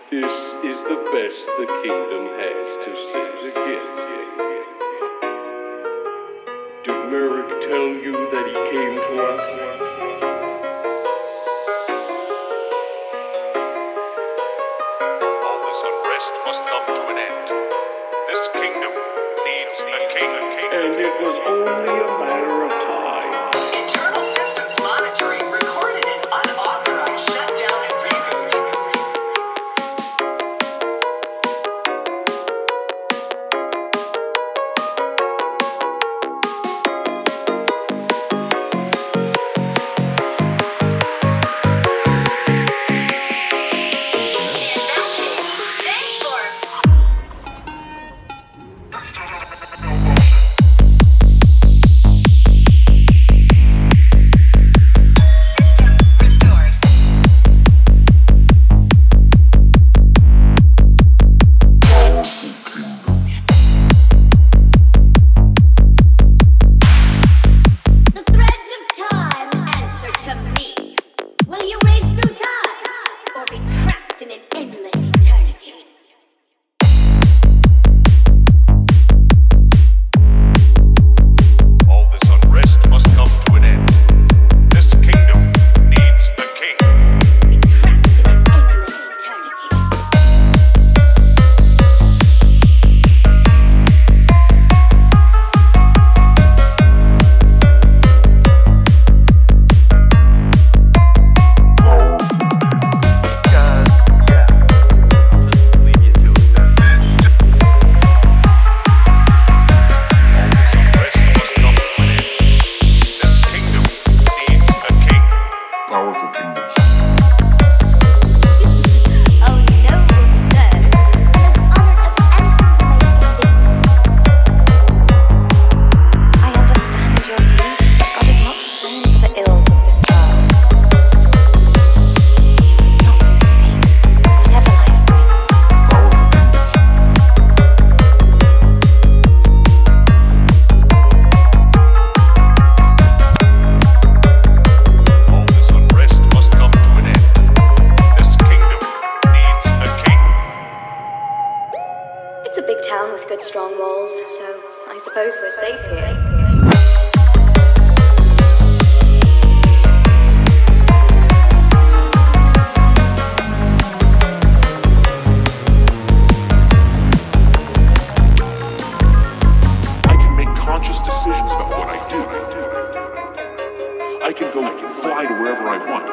This is the best the kingdom has to send against me. Did Merrick tell you that he came to us? All this unrest must come to an end. This kingdom needs a king. And it was only a matter of time. Internal systems monitoring recorded an unauthorized shutdown and reboot. It's a big town with good strong walls, so I suppose we're safe here. I can make conscious decisions about what I do. I can fly to wherever I want.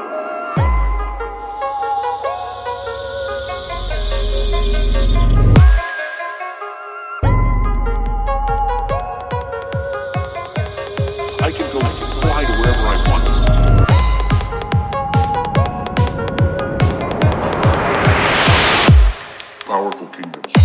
I can fly to wherever I want. Powerful kingdoms.